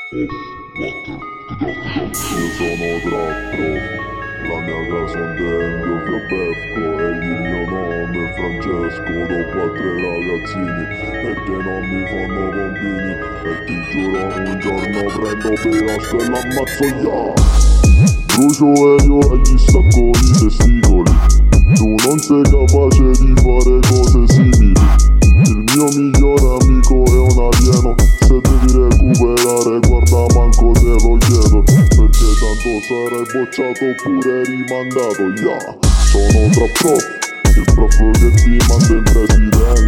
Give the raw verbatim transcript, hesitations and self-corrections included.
Io sono trap prof, la mia casa è un tempio fiabefco e il mio nome è Francesco. Dopo a tre ragazzini perché non mi fanno bambini, e ti giuro un giorno prendo Pirasco e l'ammazzo ya. Brucio Elio e gli stacco i testicoli, tu non sei capace di fare cose simili. Il mio migliore amico è un alieno, se devi recuperare guarda manco te lo chiedo, perché tanto sarai bocciato oppure rimandato, yeah. Sono tra prof, il prof che ti manda in presidente.